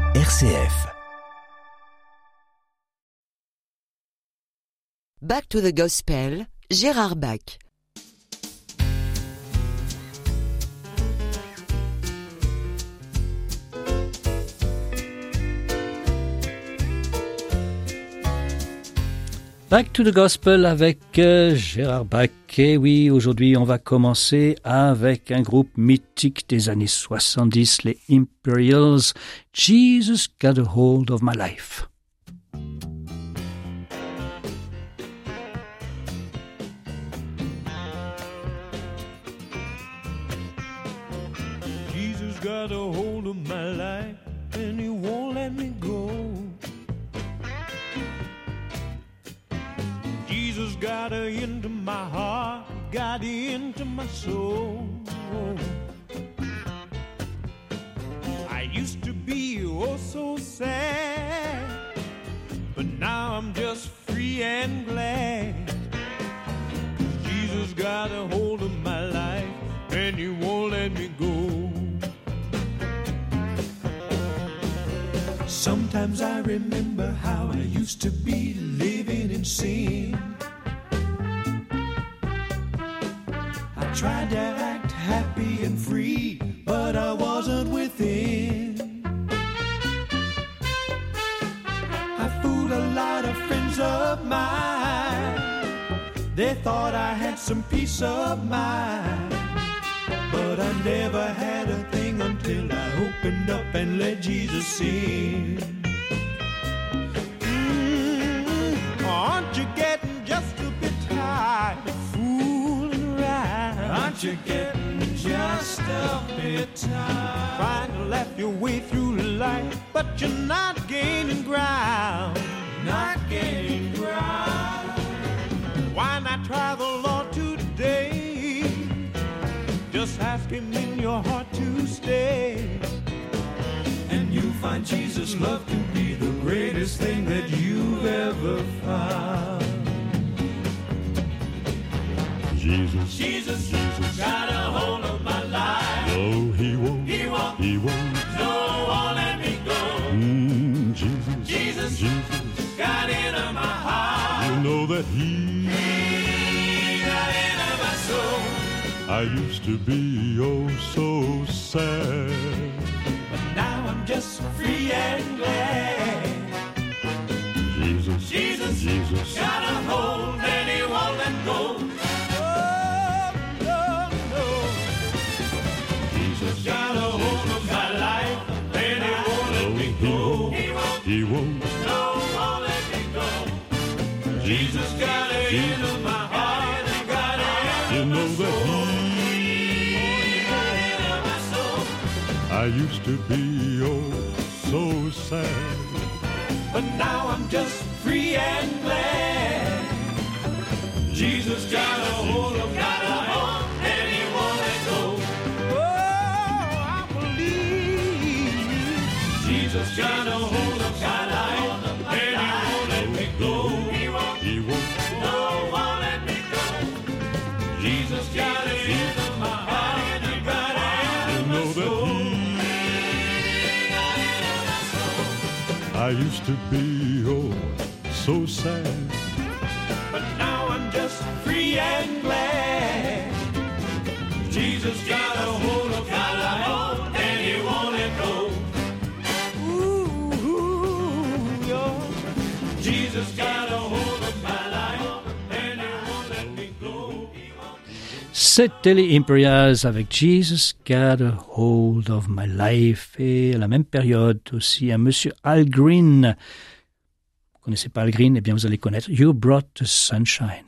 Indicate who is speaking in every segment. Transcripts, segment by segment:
Speaker 1: RCF.
Speaker 2: Back to the Gospel, Gérard Bach.
Speaker 3: Back to the Gospel avec Gérard Bach. Et oui, aujourd'hui, on va commencer avec un groupe mythique des années 70, les Imperials. Jesus got a hold of my life.
Speaker 4: Jesus got a hold of my life and he won't let me go. Jesus got into my heart, got into my soul. I used to be oh so sad, but now I'm just free and glad. Jesus got a hold of my life and he won't let me go. Sometimes I remember how I used to be living in sin. I tried to act happy and free, but I wasn't within. I fooled a lot of friends of mine. They thought I had some peace of mind, but I never had a thing until I opened up and let Jesus in. Aren't you getting just a bit tired of fooling around? Aren't you getting just a bit tired? Trying to laugh your way through life, but you're not gaining ground. Not gaining ground. Why not try the Lord today? Just ask him in your heart to stay, and you'll find Jesus' love to be the greatest thing that you've ever found. Jesus got a hold of my life.
Speaker 5: No, he won't.
Speaker 4: No, won't let me go. Jesus got into my heart.
Speaker 5: You know that he
Speaker 4: got into my soul.
Speaker 5: I used to be oh so sad,
Speaker 4: But now I'm just free and glad. Jesus got a hold and he won't let go. Oh, no. Jesus got a hold of my life and he won't let me go.
Speaker 5: he won't.
Speaker 4: No, won't let me go. Jesus got it into my heart and got it
Speaker 5: You
Speaker 4: into
Speaker 5: know
Speaker 4: my
Speaker 5: that
Speaker 4: soul. He got it into my soul.
Speaker 5: I used to be oh so sad,
Speaker 4: But now I'm just free and glad. Jesus got a hold of my life and he won't let go. Oh, I believe Jesus got a hold of my life and he won't let me go.
Speaker 5: he won't.
Speaker 4: No, won't let me go. Jesus got it into my heart and he got it
Speaker 5: You
Speaker 4: into my
Speaker 5: know
Speaker 4: soul.
Speaker 5: that I used to be oh so sad,
Speaker 4: But now I'm just free and glad. Jesus got a hold of my life and he won't let go. Ooh, yeah. Jesus got a hold of my life and he won't let me go.
Speaker 3: C'était les Imperials avec Jesus got a hold of my life. Et à la même période aussi, un monsieur Al Green. Vous connaissez pas Al Green? Eh bien, vous allez connaître You Brought the Sunshine.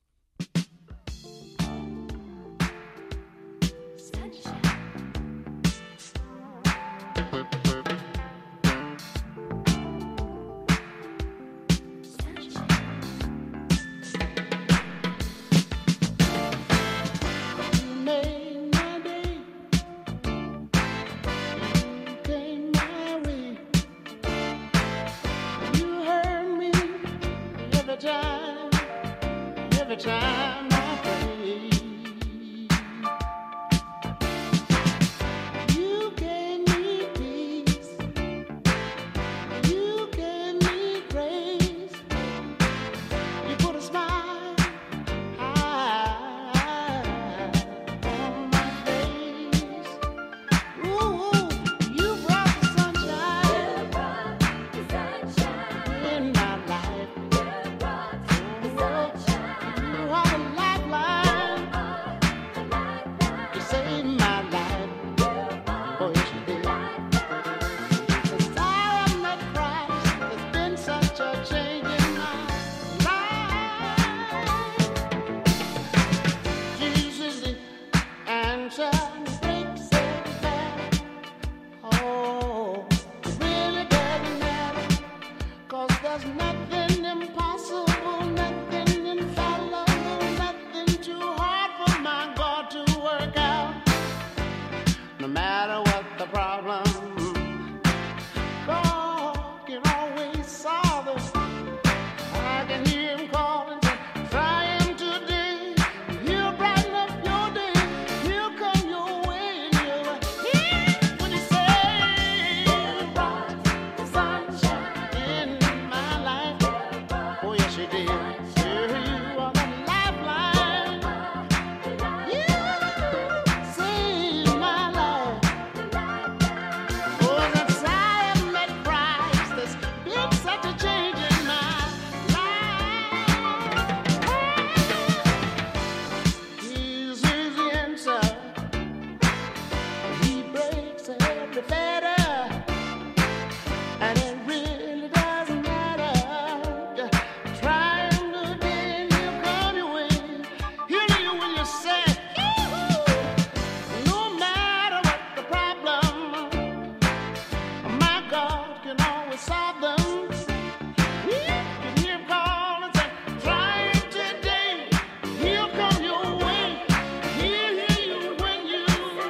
Speaker 6: every time I pray. You gave me peace can always solve them. You can hear him call and say, try it today. He'll come your way. He'll hear you when you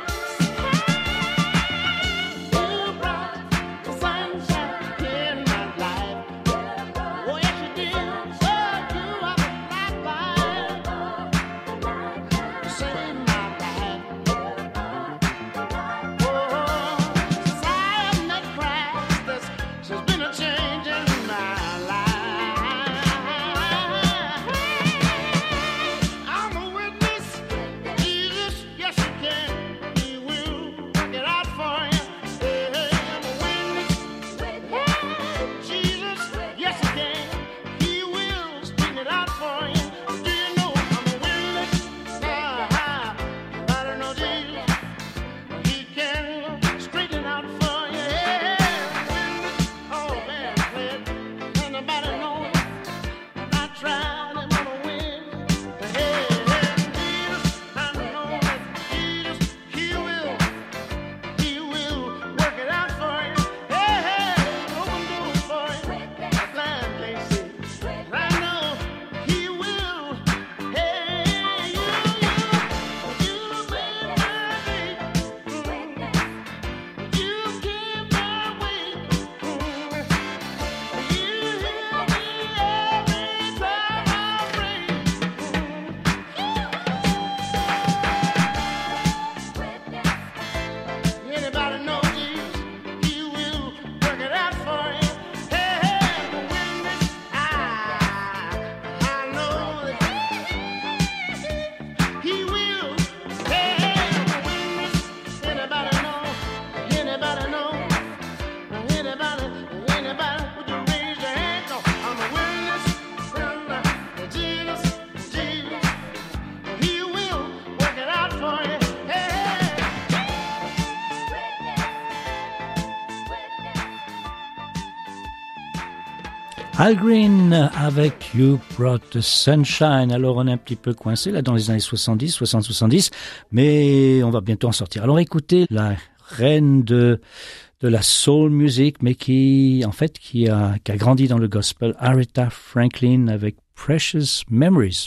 Speaker 6: brought the sunshine in my life. Oh, yes, you did. So you are the lifeline. Save my life. Oh, since I met Christ, there's been a change in my life. I'm a witness. Jesus, yes, you can. He will work it out for you. Hey, I'm a witness. Jesus, yes, you can. He will straighten it out for you. Do you know I'm a witness? I don't know Jesus. He can straighten it out for you. Oh man, anybody know it? I tried and I'm a win. Jesus, I know that Jesus, He will work it out for you. Open doors for you. Blind can't see. I know He will. Hey, you made my day. You keep my way. You heal me every time I pray. Anybody know Jesus? He will work it out for you. Hey, I'm a witness. I know that He will. Hey, I'm a witness. Anybody know? Anybody know? Anybody? Would you raise your hand? No, I'm a witness. Jesus, He will work it out for you. Hey.
Speaker 3: Al Green avec You Brought the Sunshine. Alors on est un petit peu coincé là dans les années 70, mais on va bientôt en sortir. Alors écoutez la reine de la soul music, mais qui a grandi dans le gospel, Aretha Franklin avec Precious Memories.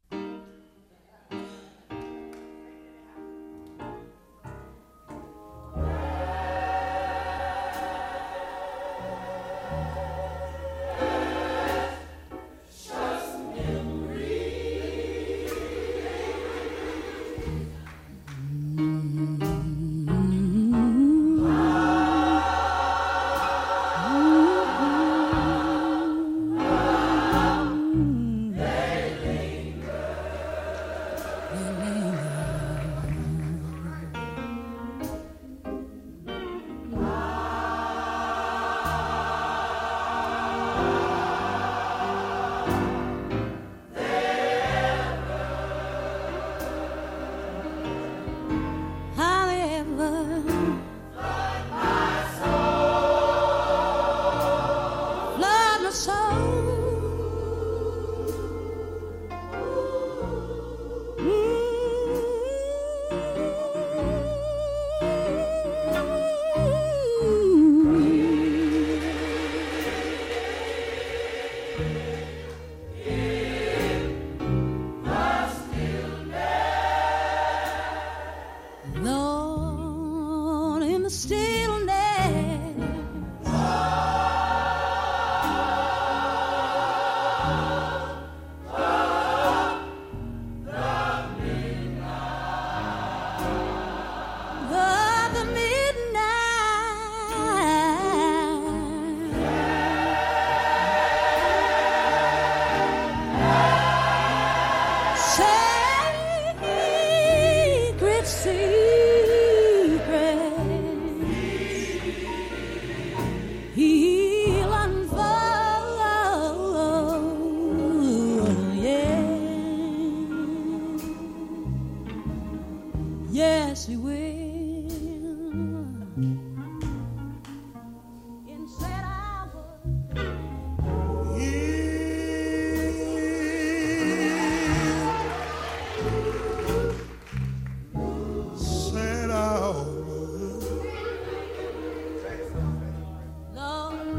Speaker 1: Yes, he will.
Speaker 6: Lord,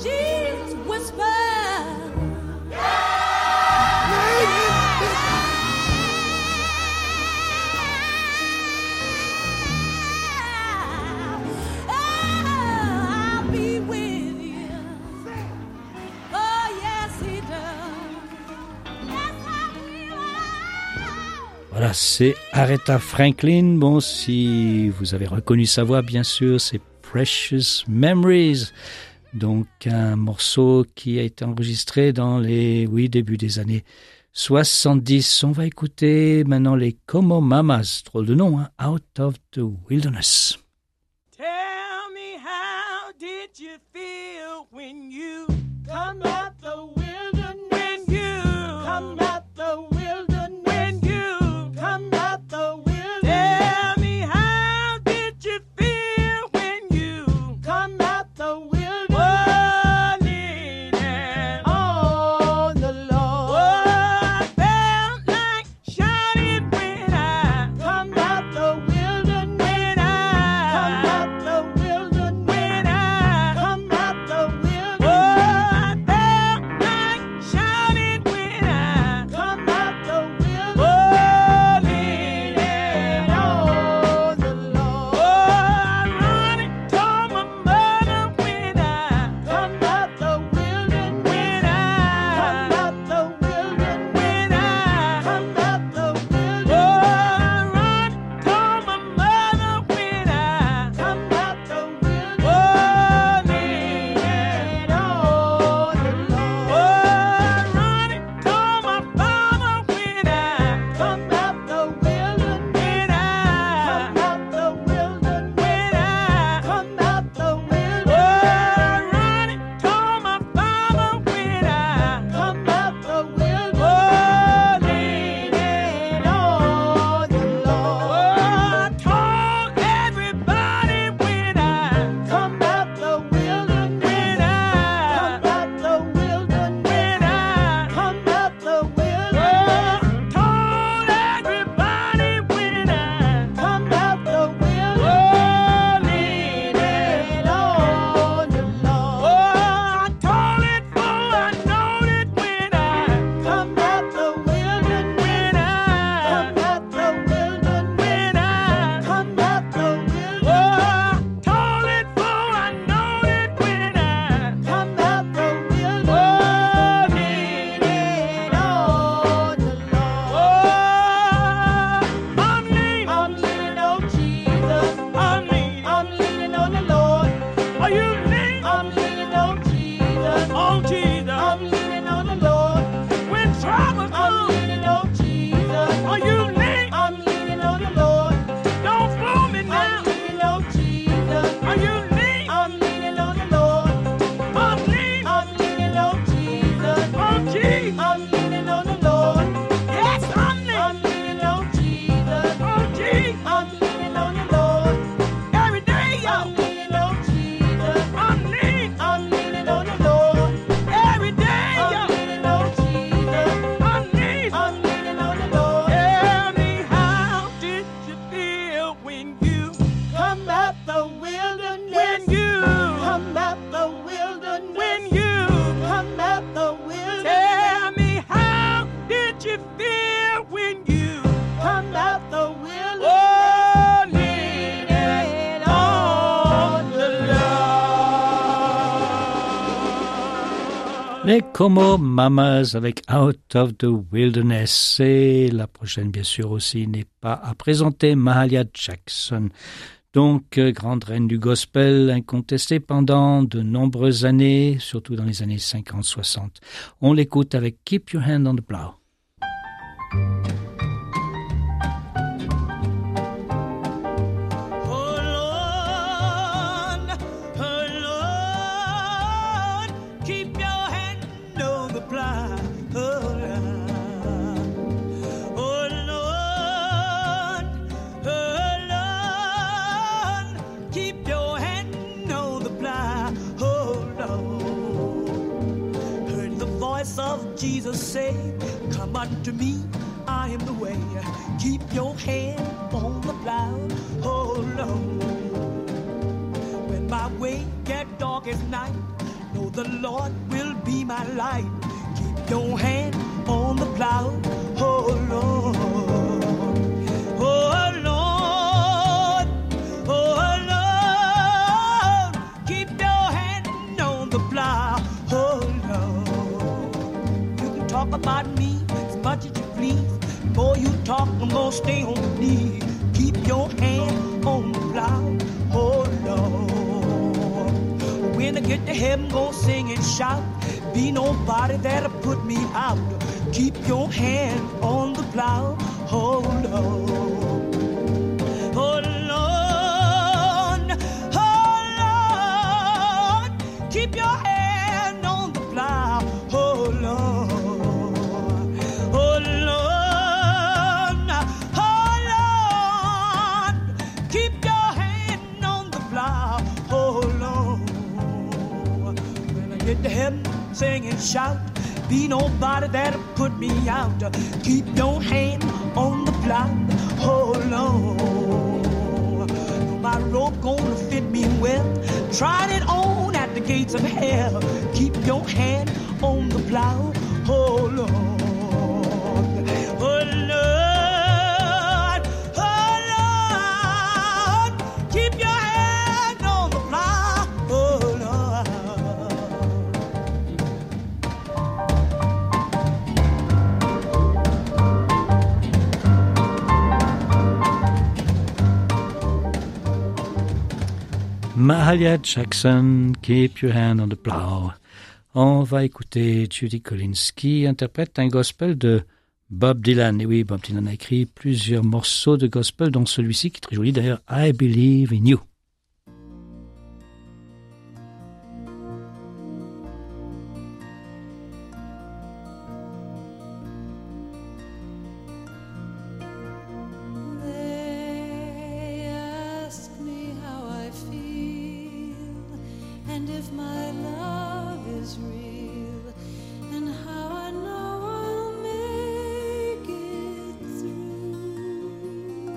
Speaker 1: Jesus whisper. I'll be with you. Oh, yes, he does. Yes, I will.
Speaker 3: Voilà, c'est Aretha Franklin. Bon, si vous avez reconnu sa voix, bien sûr, c'est Precious Memories. Donc, un morceau qui a été enregistré dans les, début des années 70. On va écouter maintenant les Como Mamas, drôle de nom, hein, Out of the Wilderness.
Speaker 4: Tell me, how did you feel when you come out the wilderness? When you come out the wilderness? When you come out the wilderness? Tell me, how did you feel when you come out the wilderness? Oh, leaning on the Lord. Oh, I felt like shouting when I come out the wilderness. When I come out the wilderness. When I come out the wilderness. Oh, I felt like shouting when I come out the wilderness. Oh, leaning on the Lord. Oh, I run and told my mother when I come out the wilderness. When I come out the wilderness. When I come out the wilderness. Oh, I run and told my mother when I come out the wilderness. Oh, leaning on the Lord. Oh, I run and told my father when I come out the wilderness. When I come out the wilderness. When I come out the wilderness. Oh, I run and told my father when I come out the wilderness. Oh, leaning on the Lord. Oh, I told everybody when I come out the wilderness. When I come out the wilderness. When I come out the wilderness. Oh, told everybody when I come out the wilderness. Oh, leaning on the Lord. Oh, I told it for I know it when I come out the wilderness. When I come out the wilderness. When I come out the wilderness. Oh, I told it for I know it when I come out the wilderness. Oh, leaning on the Lord. Oh, I'm leaning on Jesus. I'm leaning on the Lord. Are you leaning? I'm leaning on Jesus. On Jesus. I'm leaning on the Lord. When trouble comes, I'm leaning on Jesus. Are you leaning? I'm leaning on the Lord. Don't fool me now. I'm leaning on Jesus. Are you leaning? I'm leaning on the Lord. I'm leaning on Jesus. On Jesus. I'm leaning on the Lord. Yes, I'm leaning on Jesus. On Jesus. I'm leaning on the Lord. Every day, y'all. I'm leaning on Jesus. I'm leaning on the Lord. Every day, y'all. I'm leaning on Jesus. I'm leaning on the Lord. Tell me, how did you feel when you come out the wilderness? When you come out the wilderness. When you come out the wilderness. Tell me, how did you feel when you come out the wilderness? Oh, leaning on the Lord.
Speaker 3: Les Como Mamas avec Out of the Wilderness. Et la prochaine, bien sûr, aussi n'est pas à présenter, Mahalia Jackson. Donc, grande reine du gospel, incontestée pendant de nombreuses années, surtout dans les années 50-60. On l'écoute avec Keep Your Hand on the Plow.
Speaker 4: Keep your hand on the plow. Oh Lord, keep your hand on the plow. Oh Lord, heard the voice of Jesus say, "Come unto me, I am the way." Keep your hand on the plow. Oh Lord, when my way get dark as night,
Speaker 7: know the Lord will be my light. Keep your hand on the plow, oh Lord. Oh Lord, oh Lord, keep your hand on the plow, oh Lord. You can talk about me as much as you please. The more you talk, the more stay on my knees. Keep your hand on the plow, oh Lord. When I get to heaven, gonna sing and shout. Be nobody that'll put me out. Keep your hand on the plow, oh Lord. Oh Lord, oh Lord, keep your hand on the plow, oh Lord. Oh Lord, oh Lord, keep your hand on the plow, oh Lord. When I get to heaven, sing and shout. Be nobody that'll put me out. Keep your hand on the plow, oh Lord. My rope gonna fit me well. Tried it on at the gates of hell. Keep your hand on the plow, oh Lord. Oh Lord, oh Lord, keep your hand on the plow, oh Lord.
Speaker 3: Mahalia Jackson, Keep Your Hand on the Plow. On va écouter Judy Collins qui interprète un gospel de Bob Dylan. Et oui, Bob Dylan a écrit plusieurs morceaux de gospel, dont celui-ci qui est très joli d'ailleurs, I Believe in You.
Speaker 1: They ask me how I feel, and if my love is real, and how I know I'll make it through.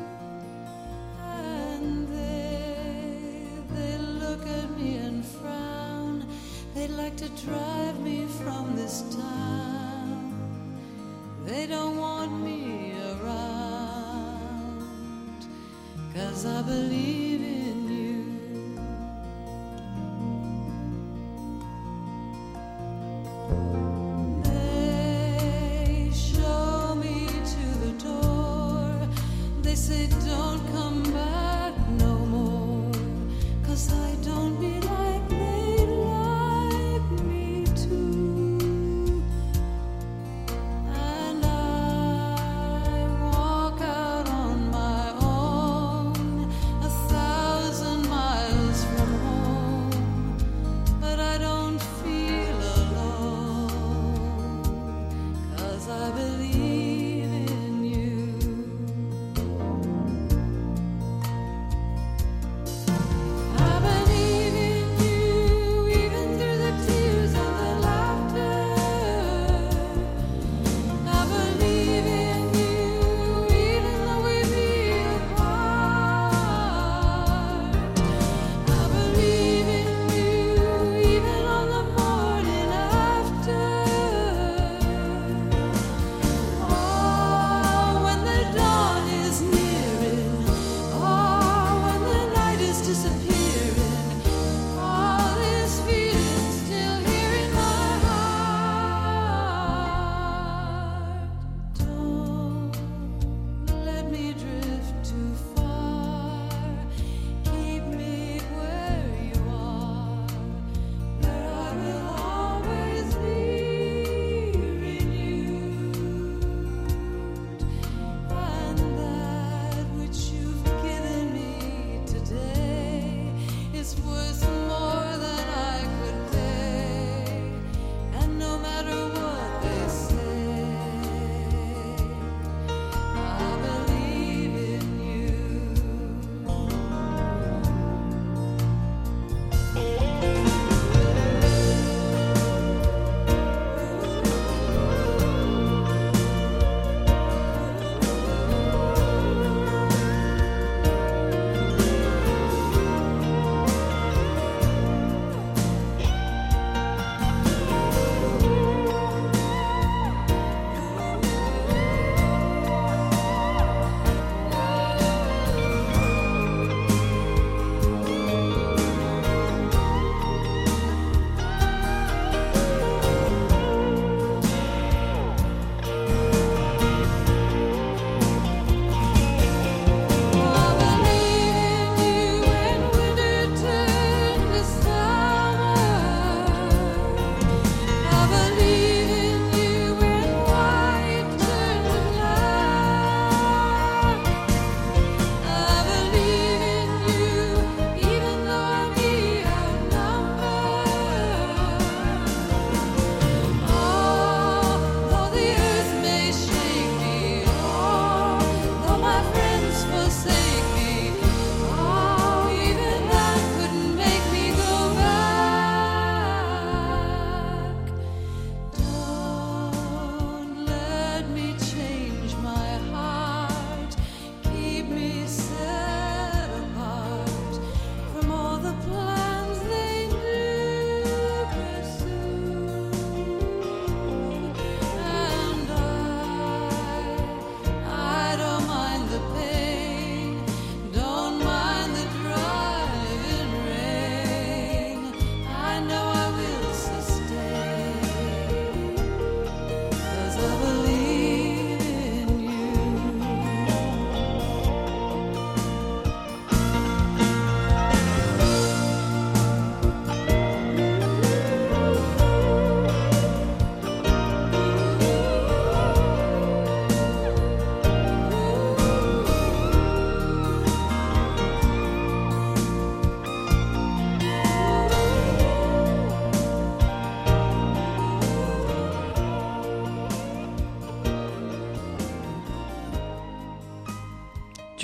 Speaker 1: And they look at me and frown. They'd like to drive me from this town. They don't want me around, 'cause I believe in you. They show me to the door. They say don't come back no more, 'cause I don't be like they'd like me to. And I walk out on my own 1,000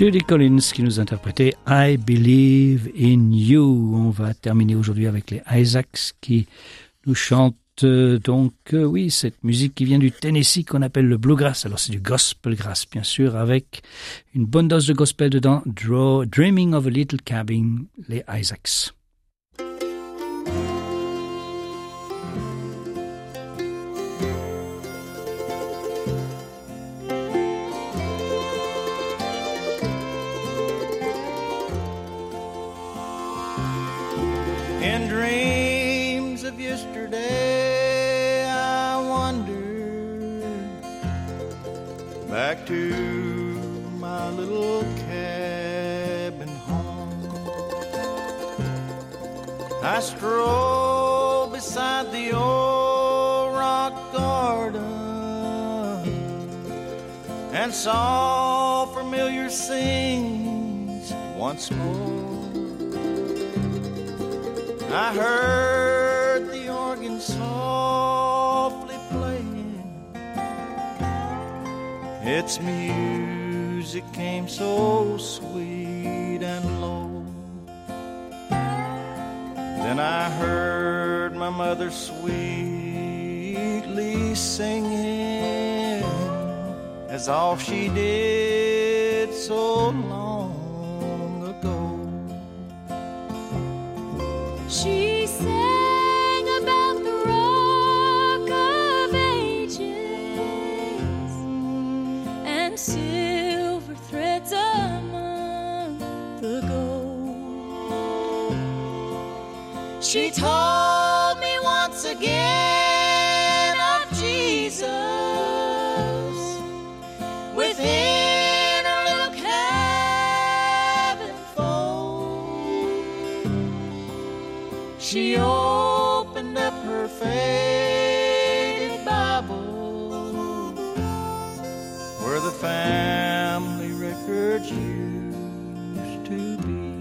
Speaker 3: Judy Collins qui nous interprétait I Believe in You. On va terminer aujourd'hui avec les Isaacs qui nous chantent oui, cette musique qui vient du Tennessee qu'on appelle le bluegrass. Alors c'est du gospel grass bien sûr, avec une bonne dose de gospel dedans. Dreaming of a Little Cabin, les Isaacs.
Speaker 4: In dreams of yesterday, I wander back to my little cabin home. I stroll beside the old rock garden and saw familiar scenes once more. I heard the organ softly playing. Its music came so sweet and low. Then I heard my mother sweetly singing, as all she did so long ago.
Speaker 1: She sang about the Rock of Ages and silver threads among the gold. She told me once again of Jesus within her little cabin fold. She opened up her faded Bible
Speaker 4: where the family records used to be.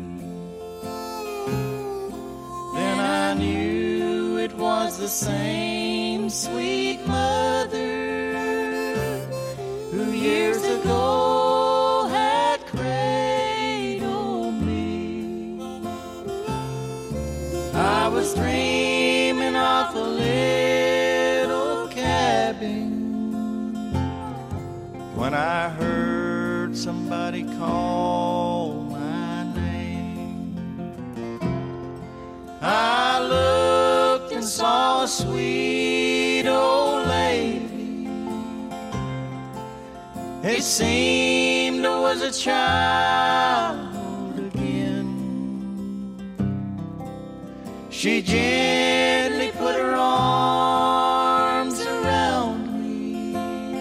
Speaker 4: Then I knew it was the same sweet mother who years ago had cradled me. I was dreaming of a little cabin when I heard somebody call my name. I looked and saw a sweet old lady. It seemed I was a child again. She gently put her arms around me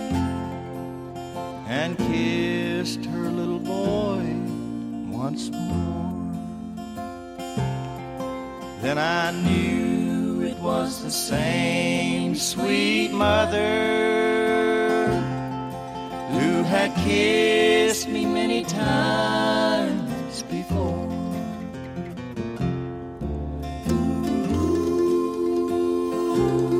Speaker 4: and kissed her little boy once more. Then I knew it was the same sweet mother who had kissed me many times before. Ooh.